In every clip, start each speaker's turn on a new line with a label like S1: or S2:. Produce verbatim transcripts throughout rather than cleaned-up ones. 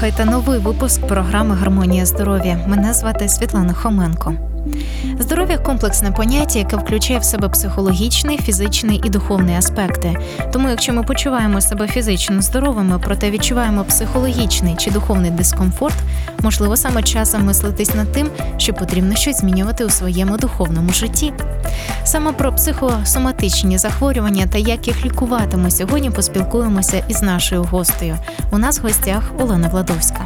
S1: слухаєте новий випуск програми «Гармонія здоров'я». Мене звати Світлана Хоменко. Здоров'я – комплексне поняття, яке включає в себе психологічний, фізичний і духовний аспекти. Тому якщо ми почуваємо себе фізично здоровими, проте відчуваємо психологічний чи духовний дискомфорт, можливо, саме час замислитись над тим, що потрібно щось змінювати у своєму духовному житті. Саме про психосоматичні захворювання та як їх лікувати ми сьогодні поспілкуємося із нашою гостею. У нас в гостях Олена Владовська.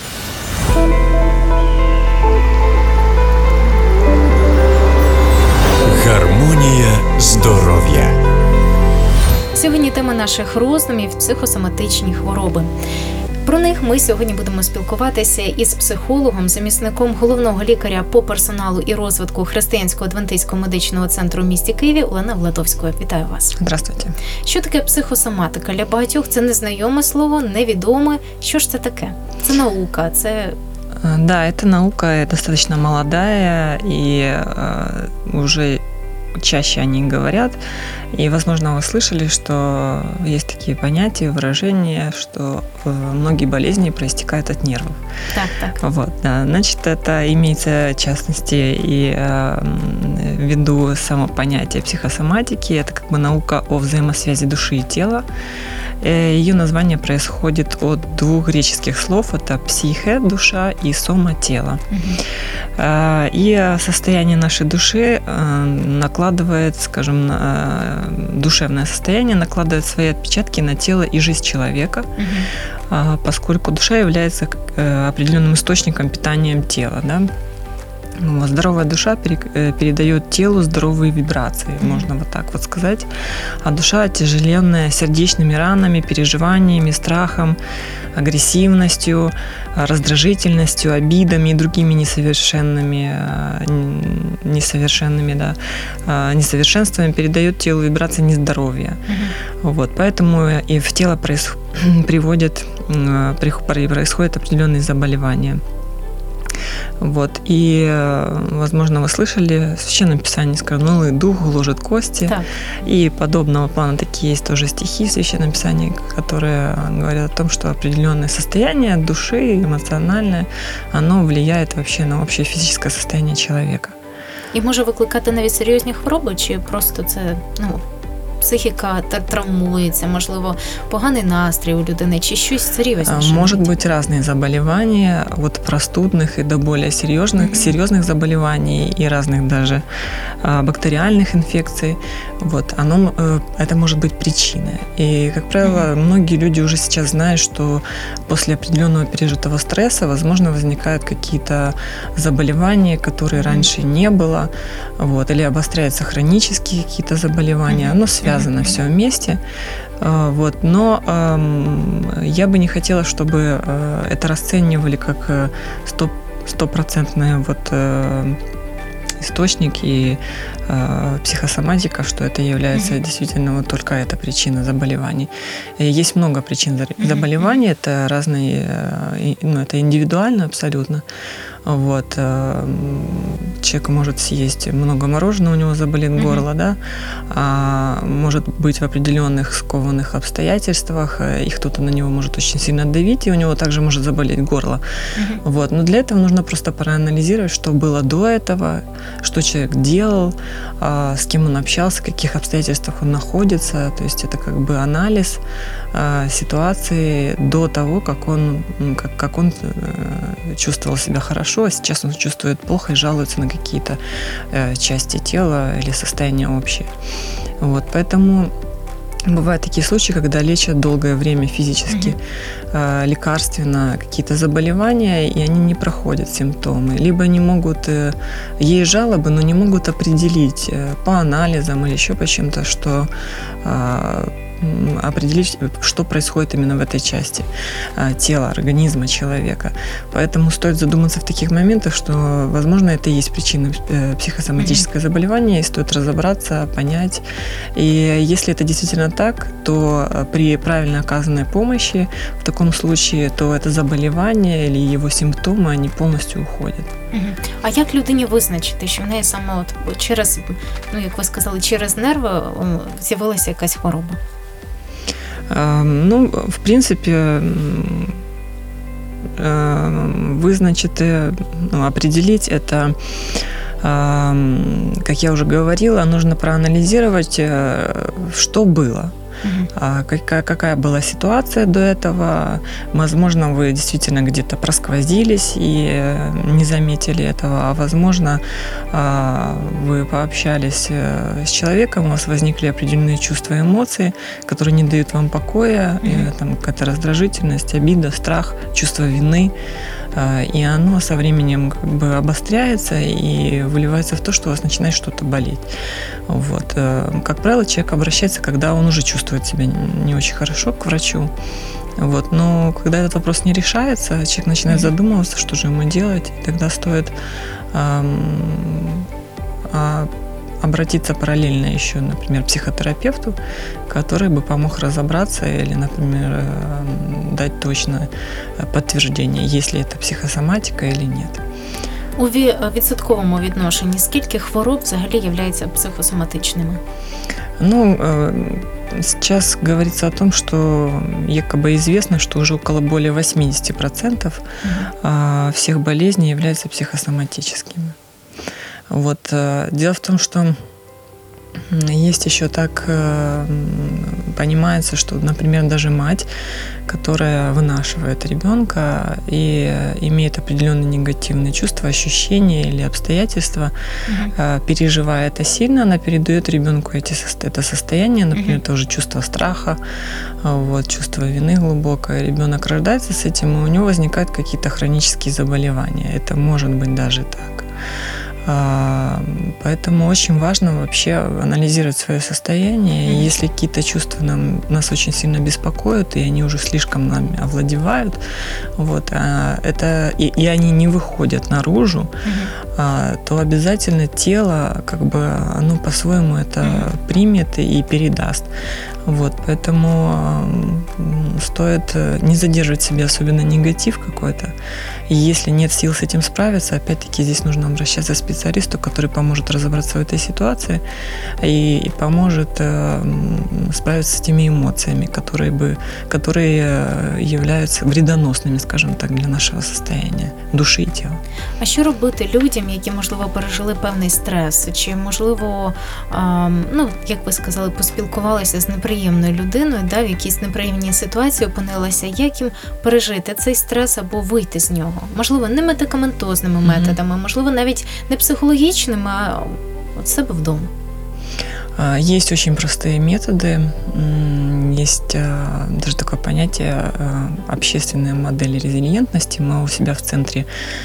S2: Гармонія здоров'я.
S1: Сьогодні тема наших роздумів – психосоматичні хвороби. Про них ми сьогодні будемо спілкуватися із психологом, замісником головного лікаря по персоналу і розвитку Християнського адвентистського медичного центру в місті Києві Олена Владовською. Вітаю вас.
S3: Здравствуйте.
S1: Що таке психосоматика? Для багатьох це незнайоме слово, невідоме. Що ж це таке? Це наука, це...
S3: Да, это наука достаточно молодая, и э, уже чаще о ней говорят. И, возможно, вы слышали, что есть такие понятия, выражения, что э, многие болезни проистекают от нервов.
S1: Так, так.
S3: Вот, да. Значит, это имеется, в частности, и э, ввиду само понятия психосоматики. Это как бы наука о взаимосвязи души и тела. Ее название происходит от двух греческих слов. Это психе, душа, и сома, тело. Угу. И состояние нашей души накладывает, скажем, душевное состояние накладывает свои отпечатки на тело и жизнь человека, угу. поскольку душа является определенным источником питания тела, да? Здоровая душа передает телу здоровые вибрации, mm-hmm. можно вот так вот сказать. А душа, отяжеленная сердечными ранами, переживаниями, страхом, агрессивностью, раздражительностью, обидами и другими несовершенными, несовершенными, да, несовершенствами, передает телу вибрации нездоровья. Mm-hmm. Вот, поэтому и в тело проис... приводят, происходят определенные заболевания. Вот. И, возможно, вы слышали, в Священном Писании сказано, унылый дух гложет кости. Так. И подобного плана такие есть тоже стихи в Священном Писании, которые говорят о том, что определенное состояние души, эмоциональное, оно влияет вообще на общее физическое состояние человека.
S1: І може викликати навіть серйозні хвороби, чи просто це, ну, психіка травмується, можливо, поганий настрій у людини, чи щось серйозніше?
S3: Может быть разные заболевания, от простудных и до более серьезных, mm-hmm. серьезных заболеваний и разных даже бактериальных инфекций. Вот, оно, это может быть причиной. И, как правило, mm-hmm. многие люди уже сейчас знают, что после определенного пережитого стресса, возможно, возникают какие-то заболевания, которые mm-hmm. раньше не было, вот, или обостряются хронические какие-то заболевания. Mm-hmm. Оно связано mm-hmm. все вместе. Вот, но э, я бы не хотела, чтобы э, это расценивали как стопроцентный вот, э, источник и э, психосоматика, что это является mm-hmm. действительно вот только эта причина заболеваний. И есть много причин mm-hmm. заболеваний, это разные, э, ну, это индивидуально абсолютно. Вот. Человек может съесть много мороженого, у него заболит mm-hmm. горло, да, а может быть в определенных скованных обстоятельствах, и кто-то на него может очень сильно давить, и у него также может заболеть горло. Mm-hmm. Вот. Но для этого нужно просто проанализировать, что было до этого, что человек делал, с кем он общался, в каких обстоятельствах он находится. То есть это как бы анализ ситуации до того, как он, как, как он чувствовал себя хорошо, а сейчас он чувствует плохо и жалуется на какие-то части тела или состояние общее. Вот, поэтому бывают такие случаи, когда лечат долгое время физически, mm-hmm. лекарственно какие-то заболевания, и они не проходят симптомы. Либо они могут, есть жалобы, но не могут определить по анализам или еще по чем-то, что определить, что происходит именно в этой части тела, организма человека. Поэтому стоит задуматься в таких моментах, что, возможно, это и есть причина психосоматического mm-hmm. заболевания, и стоит разобраться, понять. И если это действительно так, то при правильно оказанной помощи в таком случае, то это заболевание или его симптомы, они полностью уходят.
S1: Mm-hmm. А як людині визначити, що в неї саме от через, ну як ви сказали, через нерви з'явилася якась хвороба?
S3: Ну, в принципе, вы, значит, ну, определить это, как я уже говорила, нужно проанализировать, что было. Uh-huh. Какая, какая была ситуация до этого. Возможно, вы действительно где-то просквозились и не заметили этого, а возможно, вы пообщались с человеком, у вас возникли определенные чувства и эмоции, которые не дают вам покоя, uh-huh. там какая-то раздражительность, обида, страх, чувство вины. И оно со временем как бы обостряется и выливается в то, что у вас начинает что-то болеть. Вот. Как правило, человек обращается, когда он уже чувствует себя не очень хорошо, к врачу. Вот. Но когда этот вопрос не решается, человек начинает mm-hmm. задумываться, что же ему делать. И тогда стоит эм, э, обратиться параллельно еще, например, к психотерапевту, который бы помог разобраться или, например, дать точное подтверждение, есть ли это психосоматика или нет.
S1: У відсотковому відношенні скільки хвороб взагалі являються психосоматичними?
S3: Ну, сейчас говорится о том, что якобы известно, что уже около более восемьдесят процентов mm-hmm. всех болезней являются психосоматическими. Вот. Дело в том, что есть еще так понимается, что, например, даже мать, которая вынашивает ребенка и имеет определенные негативные чувства, ощущения или обстоятельства, mm-hmm. переживая это сильно, она передает ребенку эти, это состояние, например, mm-hmm. тоже чувство страха, вот, чувство вины глубокое. Ребенок рождается с этим, и у него возникают какие-то хронические заболевания. Это может быть даже так. Поэтому очень важно вообще анализировать свое состояние. И если какие-то чувства нам, нас очень сильно беспокоят, и они уже слишком нами овладевают, вот, это, и, и они не выходят наружу, mm-hmm. то обязательно тело, как бы, оно по-своему это mm-hmm. примет и передаст. Вот, поэтому стоит не задерживать в себе особенно негатив какой-то. И если нет сил с этим справиться, опять-таки здесь нужно обращаться к специалисту, который поможет разобраться в этой ситуации и, и поможет э, справиться с теми эмоциями, которые, бы, которые являются вредоносными, скажем так, для нашего состояния души і тіла.
S1: А що робити людям, які, можливо, пережили певний стрес, чи, можливо, е, ну, як ви сказали, поспілкувалися з неприємною людиною, да, в якійсь неприємній ситуації опинилася, як їм пережити цей стрес або вийти з нього? Можливо, не медикаментозними mm-hmm. методами, можливо, навіть не психологічними, а от себе вдома.
S3: Есть очень простые методы. Есть даже такое понятие общественная модель резилиентности. Мы у себя в центре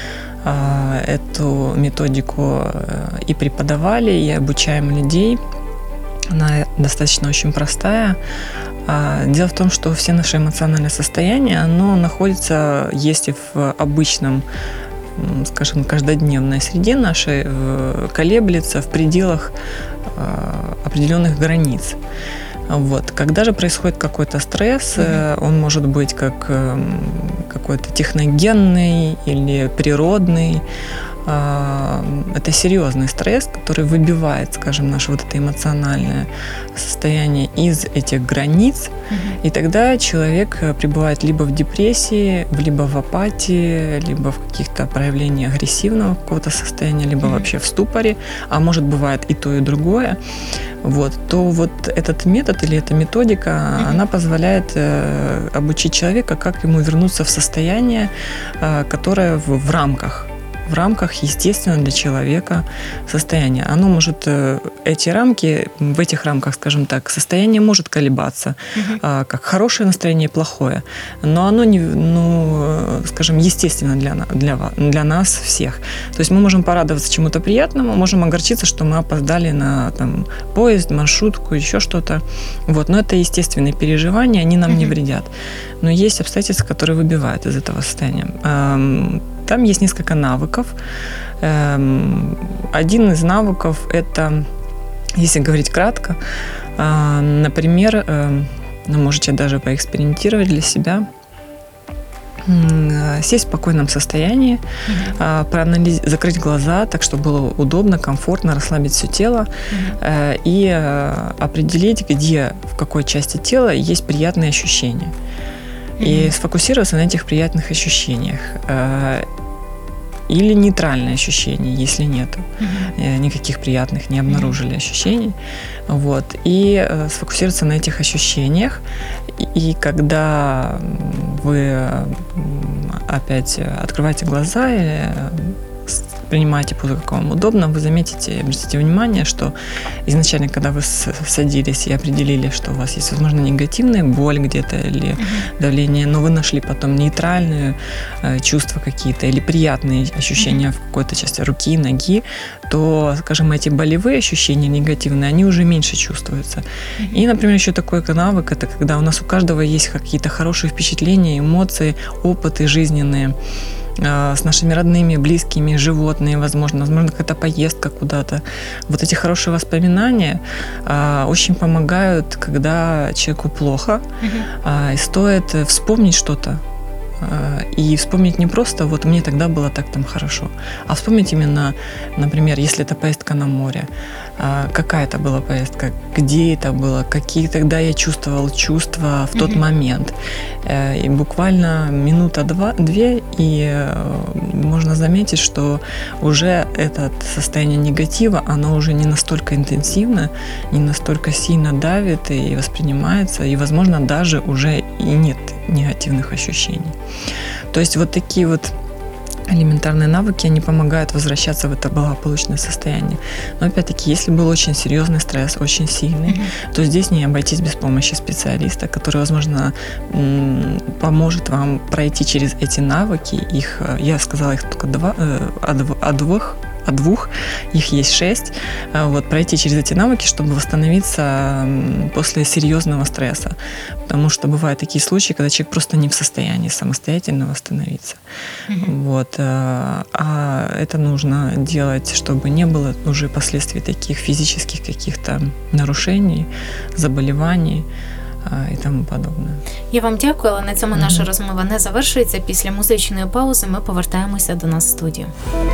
S3: эту методику и преподавали, и обучаем людей. Она достаточно очень простая. Дело в том, что все наши эмоциональные состояния, оно находится, если в обычном, скажем, каждодневной среде нашей, колеблется в пределах определенных границ. Вот. Когда же происходит какой-то стресс, mm-hmm. он может быть как какой-то техногенный или природный. Это серьезный стресс, который выбивает, скажем, наше вот это эмоциональное состояние из этих границ, mm-hmm. и тогда человек пребывает либо в депрессии, либо в апатии, либо в каких-то проявлениях агрессивного какого-то состояния, либо mm-hmm. вообще в ступоре, а может бывает и то, и другое. Вот, то вот этот метод или эта методика, mm-hmm. она позволяет э, обучить человека, как ему вернуться в состояние, э, которое в, в рамках. в рамках естественно для человека состояния. Оно может, эти рамки, в этих рамках, скажем так, состояние может колебаться, uh-huh. как хорошее настроение и плохое, но оно, не, ну, скажем, естественно для, для, для нас всех. То есть мы можем порадоваться чему-то приятному, можем огорчиться, что мы опоздали на там, поезд, маршрутку, еще что-то. Вот. Но это естественные переживания, они нам uh-huh. не вредят. Но есть обстоятельства, которые выбивают из этого состояния. Там есть несколько навыков. Один из навыков – это, если говорить кратко, например, ну, можете даже поэкспериментировать для себя, сесть в спокойном состоянии, mm-hmm. проанализ... закрыть глаза, так, чтобы было удобно, комфортно, расслабить все тело mm-hmm. и определить, где, в какой части тела есть приятные ощущения. и сфокусироваться на этих приятных ощущениях. Или нейтральные ощущения, если нету. Mm-hmm. Никаких приятных не обнаружили mm-hmm. ощущений. Вот. И сфокусироваться на этих ощущениях. И когда вы опять открываете глаза или принимаете позу, как вам удобно, вы заметите, обратите внимание, что изначально, когда вы садились и определили, что у вас есть, возможно, негативная боль где-то или mm-hmm. давление, но вы нашли потом нейтральные э, чувства какие-то или приятные ощущения mm-hmm. в какой-то части руки, ноги, то, скажем, эти болевые ощущения негативные, они уже меньше чувствуются. Mm-hmm. И, например, еще такой навык, это когда у нас у каждого есть какие-то хорошие впечатления, эмоции, опыты жизненные, с нашими родными, близкими, животные, возможно, возможно, какая-то поездка куда-то. Вот эти хорошие воспоминания а, очень помогают, когда человеку плохо, mm-hmm. а, и стоит вспомнить что-то. И вспомнить не просто «вот мне тогда было так там хорошо», а вспомнить именно, например, если это поездка на море, какая это была поездка, где это было, какие тогда я чувствовал чувства в тот mm-hmm. момент. И буквально минута-две, и можно заметить, что уже это состояние негатива, оно уже не настолько интенсивно, не настолько сильно давит и воспринимается, и, возможно, даже уже и нет негативных ощущений. То есть вот такие вот элементарные навыки, они помогают возвращаться в это благополучное состояние. Но опять-таки, если был очень серьезный стресс, очень сильный, mm-hmm. то здесь не обойтись без помощи специалиста, который, возможно, поможет вам пройти через эти навыки. Их, я сказала, их только два, о двух, о двух, их есть шесть. Вот, пройти через эти навыки, чтобы восстановиться после серьезного стресса. Потому что бывают такие случаи, когда человек просто не в состоянии самостоятельно восстановиться. Mm-hmm. Вот. А это нужно делать, чтобы не было уже последствий таких физических каких-то нарушений, заболівань і тому подобне.
S1: Я вам дякую, але на цьому mm-hmm. наша розмова не завершується. Після музичної паузи ми повертаємося до нас в студію.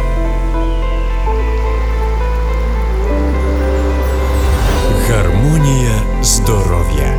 S2: Гармонія здоров'я.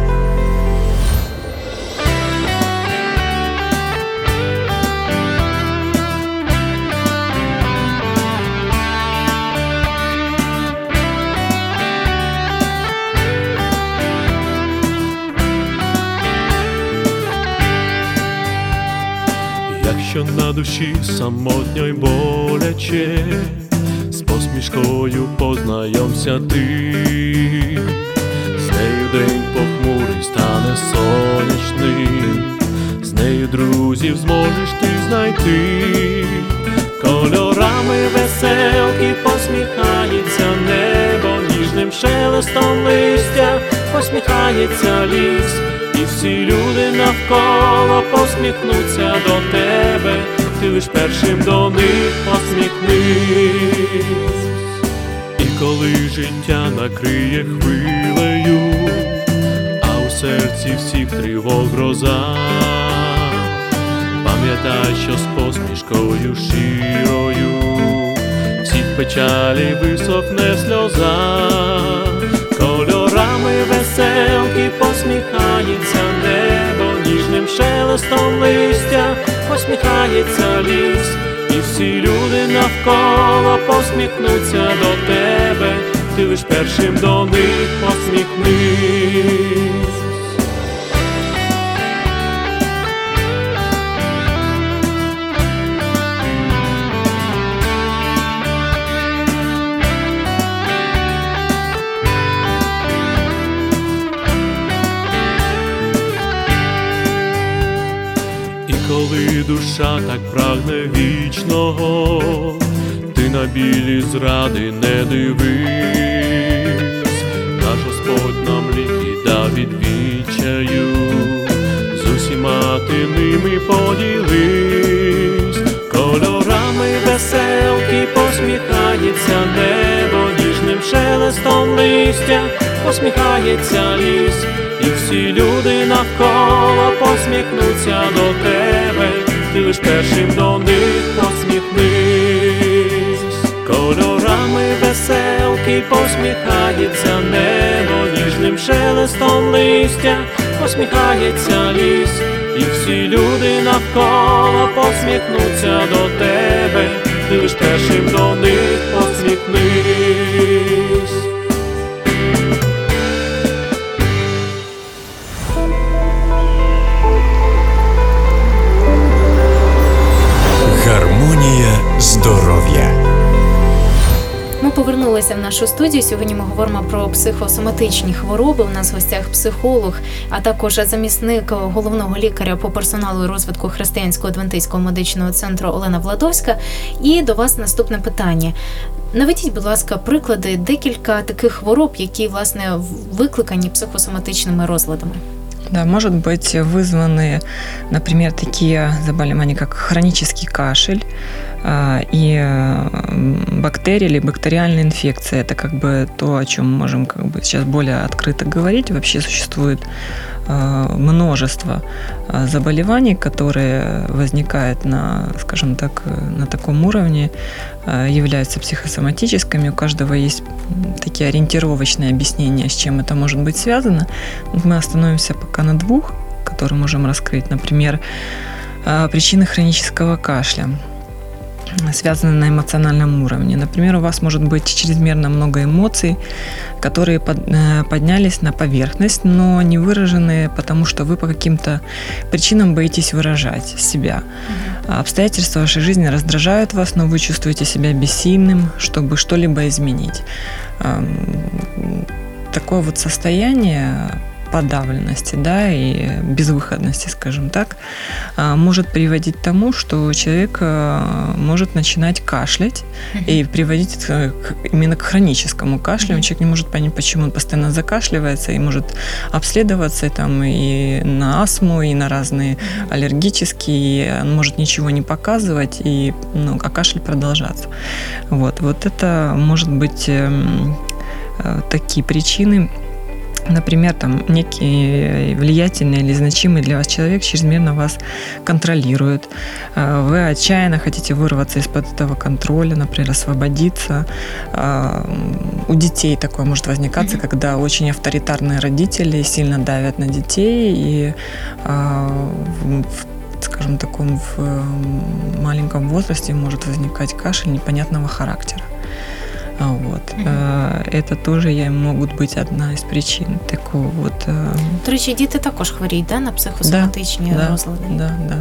S4: Якщо на душі самотньо й боляче, з посмішкою познайомся ти, з нею день похмурий стане сонячним, з нею друзів зможеш ти знайти, кольорами веселки посміхається небо, ніжним шелестом листя посміхається ліс, і всі люди навколо посміхнуться до тебе, ти лиш першим до них посміхнись. І коли життя накриє хвилею, а у серці всіх тривог гроза, пам'ятай, що з посмішкою щирою всіх печалі висохне сльоза, кольорами веселки посміхається небо, ніжним шелестом листя посміхається ліс, і всі люди навколо посміхнуться до тебе, ти лиш першим до них посміхнись. Коли душа так прагне вічного, ти на білі зради не дивись, наш Господь нам ліки дав від відчаю, з усіма ти ними поділись, кольорами веселки посміхається небо, ніжним шелестом листя посміхається ліс, і всі люди навколо посміхнуться до тебе, ти лиш першим до них посміхнись. Кольорами веселки посміхається небо, ніжним шелестом листя посміхається ліс, і всі люди навколо посміхнуться до тебе, ти лиш першим до них посміхнись.
S2: Гармонія здоров'я.
S1: Ми повернулися в нашу студію. Сьогодні ми говоримо про психосоматичні хвороби. У нас в гостях психолог, а також замісник головного лікаря по персоналу і розвитку Християнського адвентистського медичного центру Олена Владовська. І до вас наступне питання. Наведіть, будь ласка, приклади декілька таких хвороб, які, власне, викликані психосоматичними розладами.
S3: Да, может быть вызваны, например, такие заболевания, как хронический кашель и бактерии или бактериальные инфекции. Это как бы то, о чем мы можем как бы сейчас более открыто говорить. Вообще существует множество заболеваний, которые возникают на, скажем так, на таком уровне, являются психосоматическими. У каждого есть такие ориентировочные объяснения, с чем это может быть связано. Мы остановимся пока на двух, которые можем раскрыть. Например, причины хронического кашля, связаны на эмоциональном уровне. Например, у вас может быть чрезмерно много эмоций, которые поднялись на поверхность, но не выражены, потому что вы по каким-то причинам боитесь выражать себя. Mm-hmm. Обстоятельства вашей жизни раздражают вас, но вы чувствуете себя бессильным, чтобы что-либо изменить. Такое вот состояние подавленности, да, и безвыходности, скажем так, может приводить к тому, что человек может начинать кашлять mm-hmm. и приводить к, именно к хроническому кашлю. Mm-hmm. Человек не может понять, почему он постоянно закашливается, и может обследоваться там, и на астму, и на разные mm-hmm. аллергические, и он может ничего не показывать, и, ну, а кашель продолжаться. Вот, вот это может быть э, э, такие причины. Например, там некий влиятельный или значимый для вас человек чрезмерно вас контролирует. Вы отчаянно хотите вырваться из-под этого контроля, например, освободиться. У детей такое может возникаться, mm-hmm. когда очень авторитарные родители сильно давят на детей и в, скажем, таком в маленьком возрасте может возникать кашель непонятного характера. Вот. Mm-hmm. Это тоже могут быть одна из причин такого вот.
S1: До речі, діти також хворіють, да, на психосоматичні
S3: да,
S1: розлади?
S3: Да, да.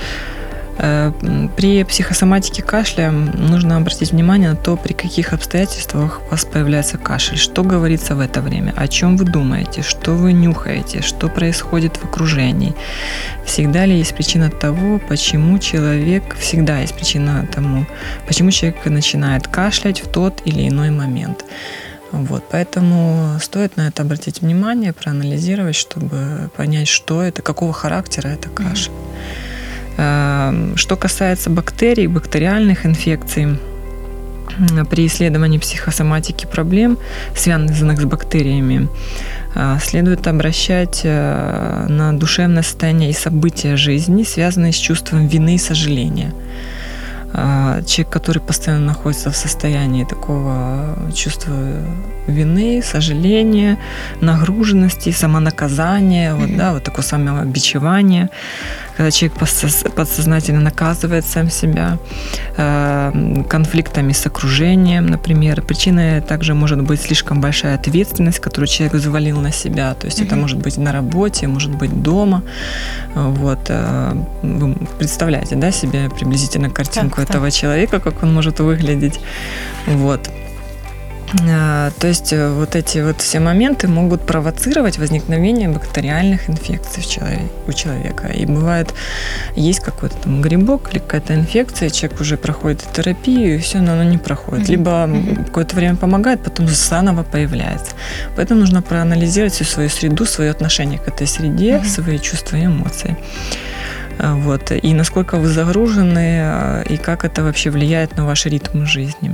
S3: При психосоматике кашля нужно обратить внимание на то, при каких обстоятельствах у вас появляется кашель, что говорится в это время, о чем вы думаете, что вы нюхаете, что происходит в окружении. Всегда ли есть причина того, почему человек, всегда есть причина тому, почему человек начинает кашлять в тот или иной момент. Вот, поэтому стоит на это обратить внимание, проанализировать, чтобы понять, что это, какого характера это кашель. Что касается бактерий, бактериальных инфекций, при исследовании психосоматики проблем, связанных с бактериями, следует обращать на душевное состояние и события жизни, связанные с чувством вины и сожаления. Человек, который постоянно находится в состоянии такого чувства вины, сожаления, нагруженности, самонаказания, mm-hmm. вот, да, вот такое самобичевание, когда человек подсознательно наказывает сам себя, конфликтами с окружением, например. Причиной также может быть слишком большая ответственность, которую человек взвалил на себя. То есть mm-hmm. это может быть на работе, может быть дома. Вот. Вы представляете, да, себе приблизительно картинку так, этого так. человека, как он может выглядеть. Вот. То есть вот эти вот все моменты могут провоцировать возникновение бактериальных инфекций у человека. И бывает, есть какой-то там грибок или какая-то инфекция, человек уже проходит терапию, и все, но оно не проходит. Mm-hmm. Либо mm-hmm. какое-то время помогает, потом заново появляется. Поэтому нужно проанализировать всю свою среду, свое отношение к этой среде, mm-hmm. свои чувства и эмоции. Вот. И насколько вы загружены, и как это вообще влияет на ваш ритм жизни.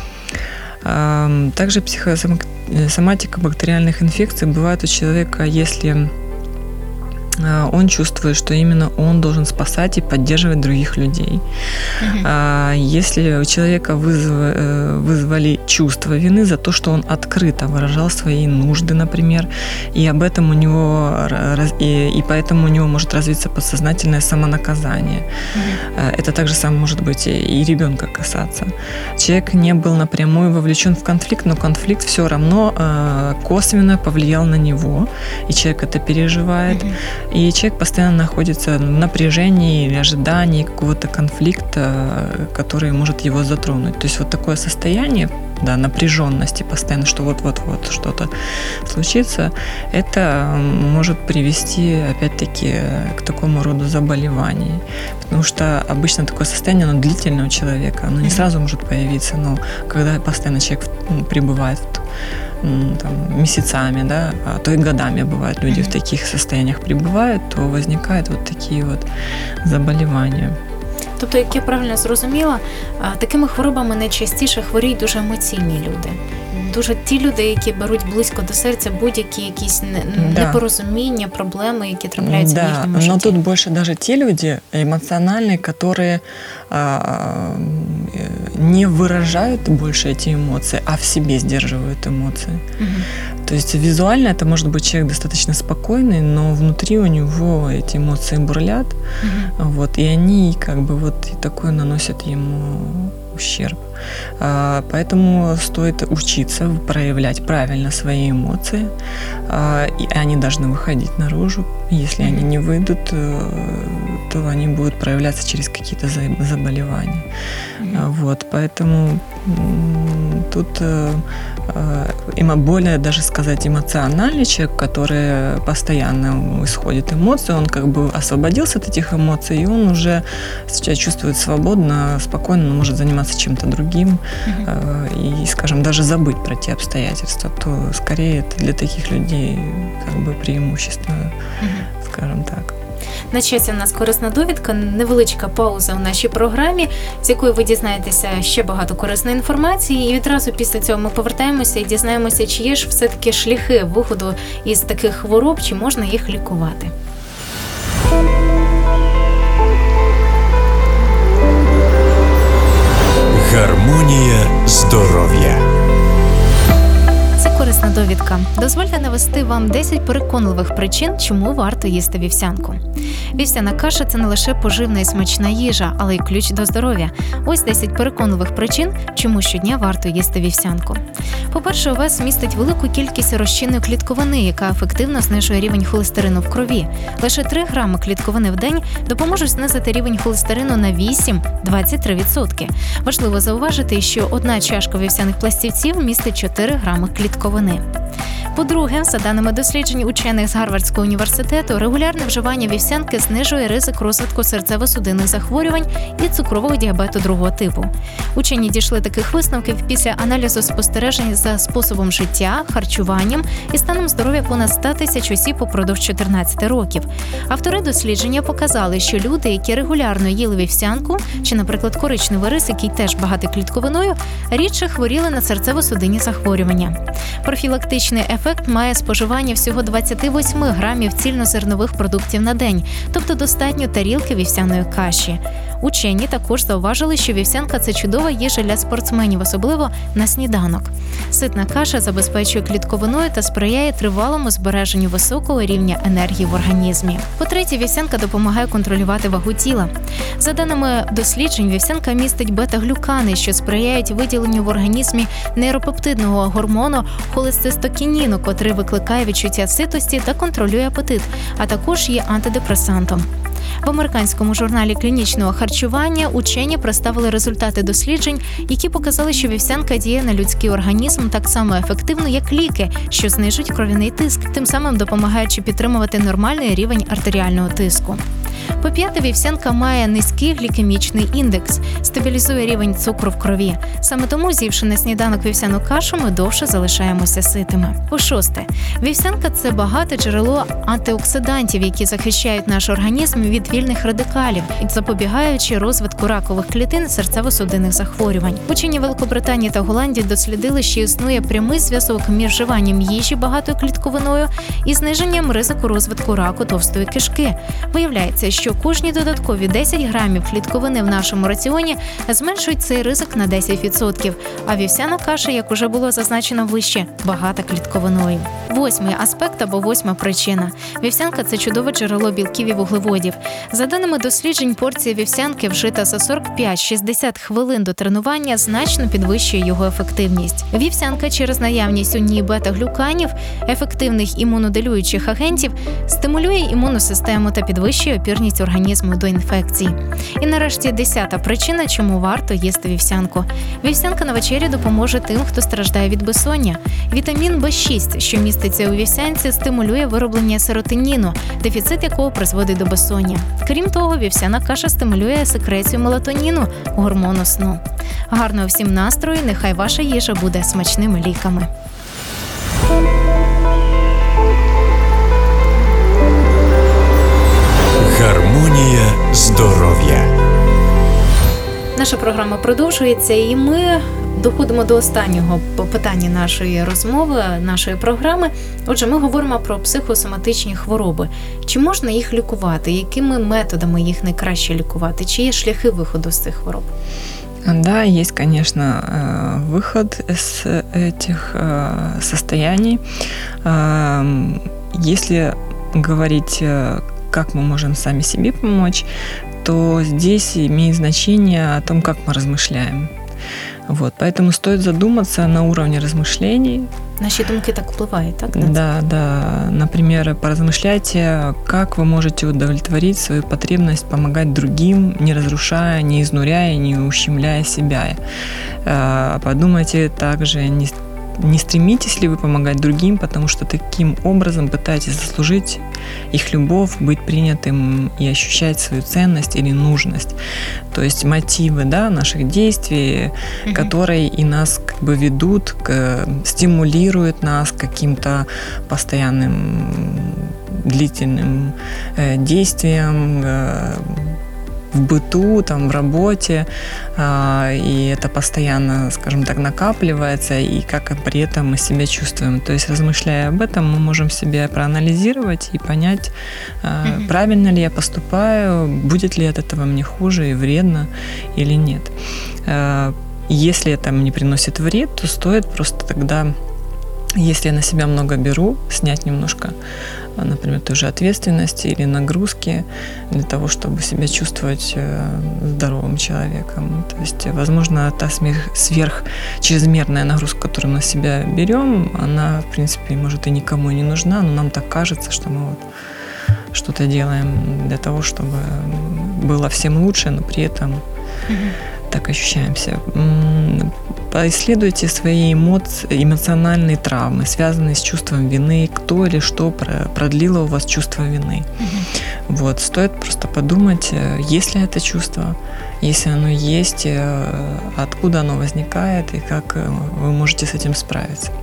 S3: Также психосоматика бактериальных инфекций бывает у человека, если он чувствует, что именно он должен спасать и поддерживать других людей. Uh-huh. Если у человека вызв... вызвали чувство вины за то, что он открыто выражал свои нужды, например, и об этом у него, и, и поэтому у него может развиться подсознательное самонаказание. Uh-huh. Это также самое может быть и ребенка касаться. Человек не был напрямую вовлечен в конфликт, но конфликт все равно косвенно повлиял на него, и человек это переживает. Uh-huh. И человек постоянно находится в напряжении или ожидании какого-то конфликта, который может его затронуть. То есть вот такое состояние, да, напряженности постоянно, что вот-вот-вот что-то случится, это может привести, опять-таки, к такому роду заболеваний. Потому что обычно такое состояние, оно длительное у человека, оно не сразу может появиться, но когда постоянно человек пребывает в там, месяцами, да, а то и годами бывают люди mm-hmm. в таких состояниях пребывают, то возникают вот такие вот заболівання.
S1: Тобто, як я правильно зрозуміла, такими хворобами найчастіше хворіють дуже емоційні люди. Дуже ті люди, які беруть близько до серця будь-які якісь
S3: да.
S1: непорозуміння, проблеми, які трапляються
S3: да,
S1: в їхньому житті.
S3: Но тут больше даже те люди эмоциональные, которые а, не выражают больше эти эмоции, а в себе сдерживают эмоции. Угу. То есть визуально это может быть человек достаточно спокойный, но внутри у него эти эмоции бурлят, угу. вот, и они как бы вот и такое наносят ему ущерб. Поэтому стоит учиться проявлять правильно свои эмоции, и они должны выходить наружу. Если они не выйдут, то они будут проявляться через какие-то заболевания. Вот, поэтому тут более, даже сказать, эмоциональный человек, который постоянно исходит эмоции, он как бы освободился от этих эмоций, и он уже себя чувствует свободно, спокойно, он может заниматься чем-то другим uh-huh. и, скажем, даже забыть про те обстоятельства, то скорее это для таких людей как бы преимущество, uh-huh. скажем так.
S1: На часі у нас корисна довідка, невеличка пауза у нашій програмі, з якої ви дізнаєтеся ще багато корисної інформації, і відразу після цього ми повертаємося і дізнаємося, чи є ж все-таки шляхи виходу із таких хвороб, чи можна їх лікувати.
S2: Гармонія здоров'я.
S1: Корисна довідка. Дозвольте навести вам десять переконливих причин, чому варто їсти вівсянку. Вівсяна каша – це не лише поживна і смачна їжа, але й ключ до здоров'я. Ось десять переконливих причин, чому щодня варто їсти вівсянку. По-перше, овес містить велику кількість розчинної клітковини, яка ефективно знижує рівень холестерину в крові. Лише три грами клітковини в день допоможуть знизити рівень холестерину на вісім - двадцять три відсотки. Важливо зауважити, що одна чашка вівсяних пластівців містить чотири грами клітковини. По-друге, за даними досліджень учених з Гарвардського університету, регулярне вживання вівсянки знижує ризик розвитку серцево-судинних захворювань і цукрового діабету другого типу. Учені дійшли таких висновків після аналізу спостережень за способом життя, харчуванням і станом здоров'я понад сто тисяч осіб упродовж чотирнадцяти років. Автори дослідження показали, що люди, які регулярно їли вівсянку, чи, наприклад, коричневий рис, який теж багатий клітковиною, рідше хворіли на серцево-судинні захворювання. Профілактичний ефект має споживання всього двадцять вісім грамів цільнозернових продуктів на день, тобто достатньо тарілки вівсяної каші. Учені також зауважили, що вівсянка – це чудова їжа для спортсменів, особливо на сніданок. Ситна каша забезпечує клітковиною та сприяє тривалому збереженню високого рівня енергії в організмі. По-третє, вівсянка допомагає контролювати вагу тіла. За даними досліджень, вівсянка містить бета-глюкани, що сприяють виділенню в організмі нейропептидного гормону холецистокініну, котрий викликає відчуття ситості та контролює апетит, а також є антидепресантом. В американському журналі клінічного харчування учені представили результати досліджень, які показали, що вівсянка діє на людський організм так само ефективно, як ліки, що знижують кров'яний тиск, тим самим допомагаючи підтримувати нормальний рівень артеріального тиску. По-п'яте, вівсянка має низький глікемічний індекс, стабілізує рівень цукру в крові. Саме тому, з'ївши на сніданок вівсяну кашу, ми довше залишаємося ситими. По-шосте, вівсянка – це багате джерело антиоксидантів, які захищають наш організм від вільних радикалів, запобігаючи розвитку ракових клітин серцево-судинних захворювань. Учені Великобританії та Голландії дослідили, що існує прямий зв'язок між вживанням їжі багатою клітковиною і зниженням ризику розвитку раку товстої кишки. Виявляється, що кожні додаткові десять грамів клітковини в нашому раціоні зменшують цей ризик на десять відсотків, а вівсяна каша, як уже було зазначено вище, багата клітковиною. Восьмий аспект або восьма причина. Вівсянка – це чудове джерело білків і вуглеводів. За даними досліджень, порція вівсянки, вжита за сорок п'ять - шістдесят хвилин до тренування, значно підвищує його ефективність. Вівсянка через наявність у ній бета-глюканів, ефективних імунодилюючих агентів, стимулює імунну систему та підвищує опірність організму до інфекцій. І нарешті десята причина, чому варто їсти вівсянку. Вівсянка на вечері допоможе тим, хто страждає від безсоння. Вітамін Б шість, що міститься у вівсянці, стимулює вироблення серотоніну, дефіцит якого призводить до безсоння. Крім того, вівсяна каша стимулює секрецію мелатоніну, гормону сну. Гарного всім настрою, нехай ваша їжа буде смачними ліками.
S2: Гармонія здоров'я.
S1: Наша програма продовжується, і ми доходимо до останнього питання нашої розмови, нашої програми. Отже, ми говоримо про психосоматичні хвороби. Чи можна їх лікувати? Якими методами їх найкраще лікувати? Чи є шляхи виходу з цих хвороб?
S3: Да, есть, конечно, выход из этих состояний. Если говорить, как мы можем сами себе помочь, то здесь имеет значение о том, как мы размышляем. Вот, поэтому стоит задуматься на уровне размышлений.
S1: Наши думки так впливають, так?
S3: Да, да. Например, поразмышляйте, как вы можете удовлетворить свою потребность помогать другим, не разрушая, не изнуряя, не ущемляя себя. Подумайте также, не Не стремитесь ли вы помогать другим, потому что таким образом пытаетесь заслужить их любовь, быть принятым и ощущать свою ценность или нужность. То есть мотивы, да, наших действий, mm-hmm. которые и нас как бы ведут, к, стимулируют нас к каким-то постоянным длительным э, действиям, э, в быту, там, в работе, и это постоянно, скажем так, накапливается, и как при этом мы себя чувствуем. То есть, размышляя об этом, мы можем себя проанализировать и понять, mm-hmm. правильно ли я поступаю, будет ли от этого мне хуже и вредно или нет. Если это мне приносит вред, то стоит просто тогда, если я на себя много беру, снять немножко, например, той же ответственности или нагрузки для того, чтобы себя чувствовать здоровым человеком. То есть, возможно, та сверх чрезмерная нагрузка, которую мы на себя берем, она, в принципе, может и никому не нужна, но нам так кажется, что мы вот что-то делаем для того, чтобы было всем лучше, но при этом mm-hmm. так ощущаемся. Поисследуйте свои эмоции, эмоциональные травмы, связанные с чувством вины, кто или что продлило у вас чувство вины. Mm-hmm. Вот, стоит просто подумать, есть ли это чувство, если оно есть, откуда оно возникает и как вы можете с этим справиться.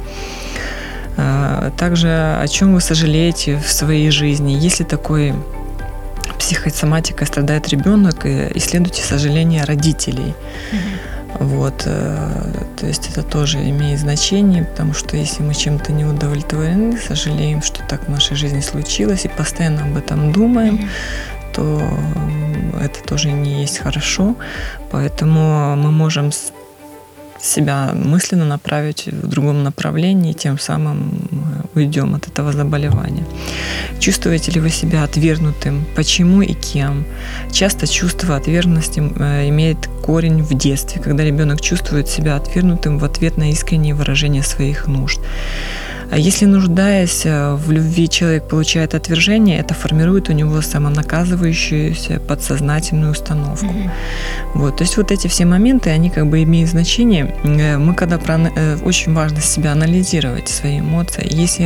S3: Также, о чем вы сожалеете в своей жизни, если такой психосоматикой страдает ребенок, исследуйте сожаления родителей. Mm-hmm. Вот, то есть это тоже имеет значение, потому что если мы чем-то не удовлетворены, сожалеем, что так в нашей жизни случилось, и постоянно об этом думаем, mm-hmm. то это тоже не есть хорошо. Поэтому мы можем себя мысленно направить в другом направлении, тем самым мы уйдем от этого заболевания. Чувствуете ли вы себя отвергнутым? Почему и кем? Часто чувство отверженности имеет корень в детстве, когда ребенок чувствует себя отвергнутым в ответ на искреннее выражение своих нужд. А если, нуждаясь в любви, человек получает отвержение, это формирует у него самонаказывающуюся подсознательную установку. Mm-hmm. Вот, то есть вот эти все моменты, они как бы имеют значение. Мы когда очень важно себя анализировать, свои эмоции. Если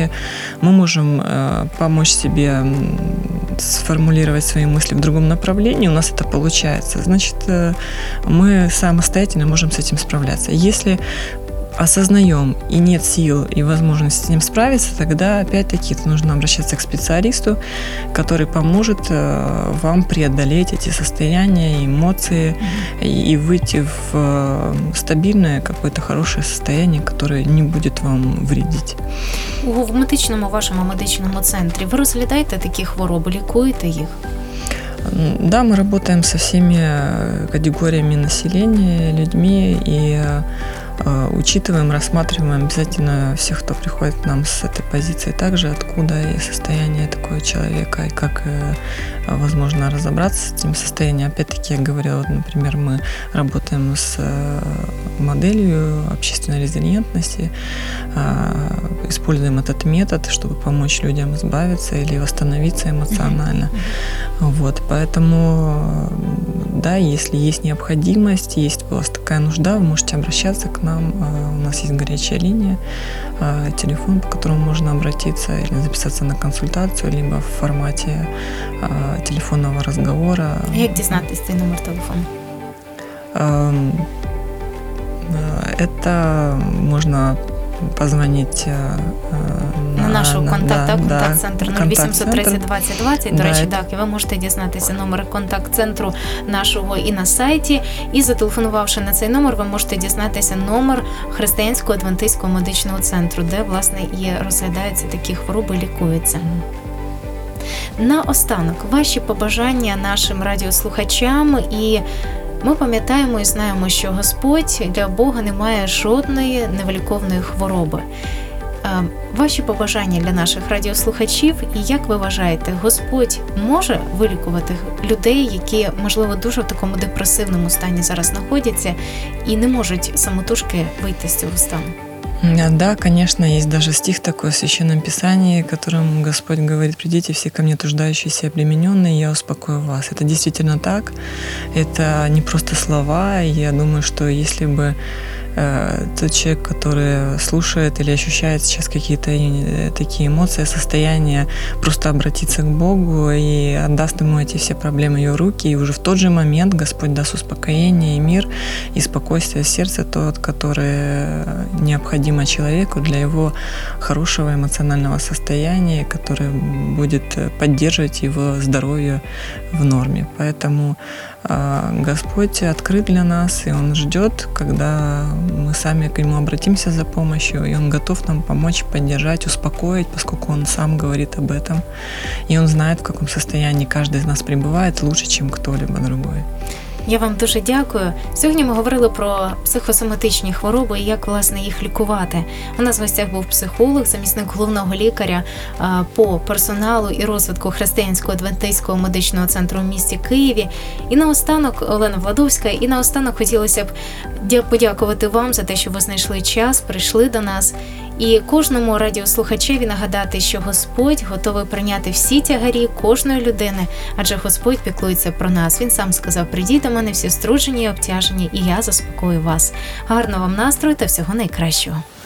S3: если мы можем э, помочь себе м, сформулировать свои мысли в другом направлении, у нас это получается, значит, э, мы самостоятельно можем с этим справляться. Если осознаем и нет сил и возможности с ним справиться, тогда опять-таки нужно обращаться к специалисту, который поможет э, вам преодолеть эти состояния, эмоции mm-hmm. и выйти в э, стабильное какое-то хорошее состояние, которое не будет вам вредить.
S1: В медичному вашому медичному центрі ви розглядаєте такі хвороби, лікуєте їх?
S3: Да, мы работаем со всеми категориями населения, людьми и учитываем, рассматриваем обязательно всех, кто приходит к нам с этой позиции, также откуда и состояние такого человека, и как возможно разобраться с этим состоянием. Опять-таки, я говорила, вот, например, мы работаем с моделью общественной резилиентности, используем этот метод, чтобы помочь людям избавиться или восстановиться эмоционально. Mm-hmm. Вот, поэтому, да, если есть необходимость, есть у вас такая нужда, вы можете обращаться к нам. У нас есть горячая линия, телефон, по которому можно обратиться или записаться на консультацию, либо в формате телефонного разговора.
S1: Як дізнатись цей номер телефону?
S3: Это можно позвонить
S1: на, на нашу контакт,
S3: да,
S1: так,
S3: да,
S1: контакт-центр нуль вісімсот тридцять двадцять двадцять. До
S3: да,
S1: речі, так, і ви можете дізнатися номер контакт-центру нашого і на сайті. І зателефонувавши на цей номер, ви можете дізнатися номер Християнського адвентистського медичного центру, де, власне, і розглядаються такі хвороби, лікуються. Наостанок, ваші побажання нашим радіослухачам. І ми пам'ятаємо і знаємо, що Господь, для Бога немає жодної невиліковної хвороби. Ваші побажання для наших радіослухачів, і як ви вважаєте, Господь може вилікувати людей, які, можливо, дуже в такому депресивному стані зараз знаходяться і не можуть самотужки вийти з цього стану?
S3: Да, конечно, есть даже стих такой в Священном Писании, которым Господь говорит: «Придите все ко мне, труждающиеся и обремененные, я успокою вас». Это действительно так, это не просто слова, и я думаю, что если бы тот человек, который слушает или ощущает сейчас какие-то такие эмоции, состояния, просто обратиться к Богу и отдаст Ему эти все проблемы в Его руки, и уже в тот же момент Господь даст успокоение и мир, и спокойствие в сердце, тот, который необходимо человеку для его хорошего эмоционального состояния, который будет поддерживать его здоровье в норме. Поэтому Господь открыт для нас, и Он ждет, когда мы сами к Нему обратимся за помощью, и Он готов нам помочь, поддержать, успокоить, поскольку Он сам говорит об этом. И Он знает, в каком состоянии каждый из нас пребывает лучше, чем кто-либо другой.
S1: Я вам дуже дякую. Сьогодні ми говорили про психосоматичні хвороби і як, власне, їх лікувати. У нас в гостях був психолог, замісник головного лікаря по персоналу і розвитку Християнського адвентистського медичного центру в місті Києві. І наостанок Олена Владовська. І наостанок хотілося б подякувати вам за те, що ви знайшли час, прийшли до нас. І кожному радіослухачеві нагадати, що Господь готовий прийняти всі тягарі кожної людини, адже Господь піклується про нас. Він сам сказав: «Придіть до мене всі струджені і обтяжені, і я заспокою вас». Гарного вам настрою та всього найкращого.